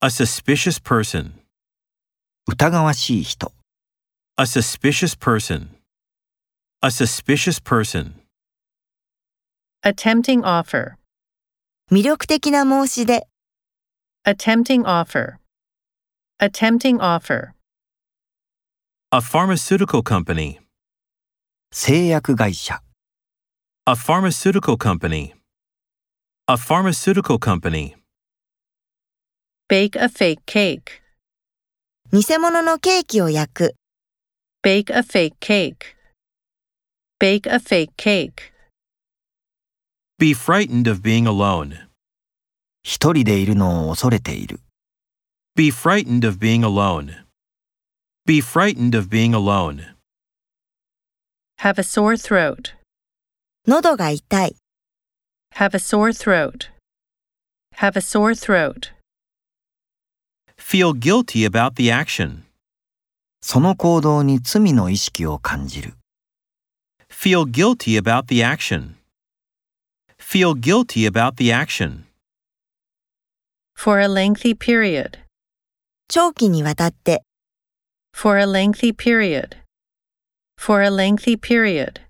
A suspicious person. 疑わしい人。 A suspicious person. A suspicious person. A tempting offer. 魅力的な申し出。 A tempting offer. A tempting offer. A pharmaceutical company. 製薬会社。 A pharmaceutical company. A pharmaceutical company. Bake a fake cake. 偽物のケーキを焼く。 Bake a fake cake. Bake a fake cake. Be frightened of being alone. 一人でいるのを恐れている。 Be frightened of being alone. Be frightened of being alone. Have a sore throat. 喉が痛い。 Have a sore throat. Have a sore throat. Feel guilty about the action. その行動に罪の意識を感じる。 Feel guilty about the action. Feel guilty about the action. For a lengthy period. 長期にわたって。 For a lengthy period. For a lengthy period.